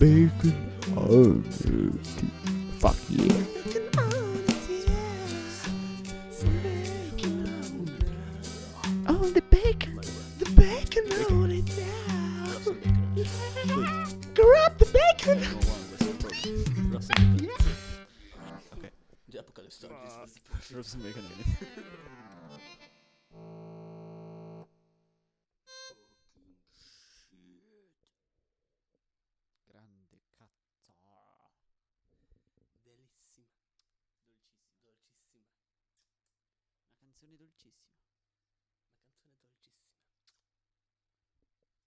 bacon on it. Fuck yeah. Oh, the bacon. The bacon on it now. Grab the bacon. Okay. The apocalypse started. Doesn't make any sense. Grande cazzo. Bellissima. Dolcissima. Una canzone dolcissima.